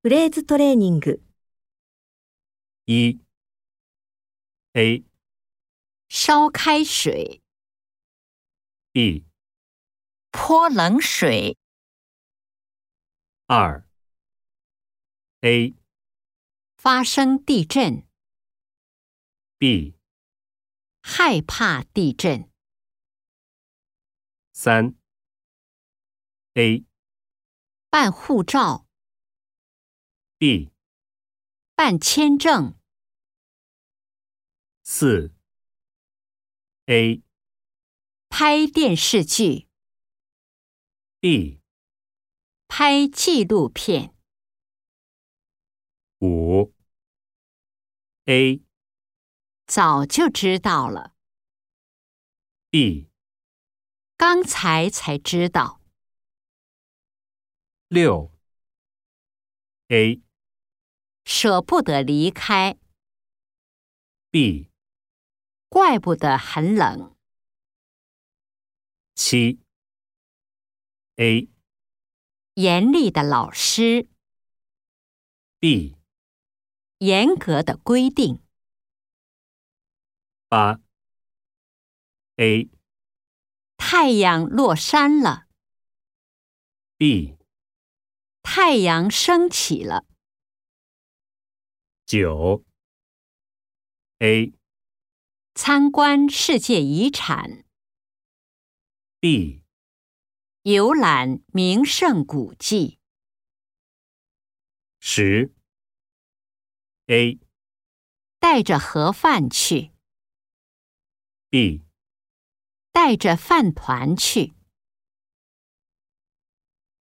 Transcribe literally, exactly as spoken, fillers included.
フレーズトレーニング。 一 A 烧开水， B 泼冷水， 二 A 发生地震， B 害怕地震， 三 A 办护照， B 办签证， 四 A 拍电视剧， B 拍纪录片， 五 A 早就知道了， B 刚才才知道， 六 A 舍不得离开， B 怪不得很冷， 七 A 严厉的老师， B 严格的规定， 八 A 太阳落山了， B 太阳升起了， 九 A 参观世界遗产， B 游览名胜古迹， 十 A 带着盒饭去， B 带着饭团去。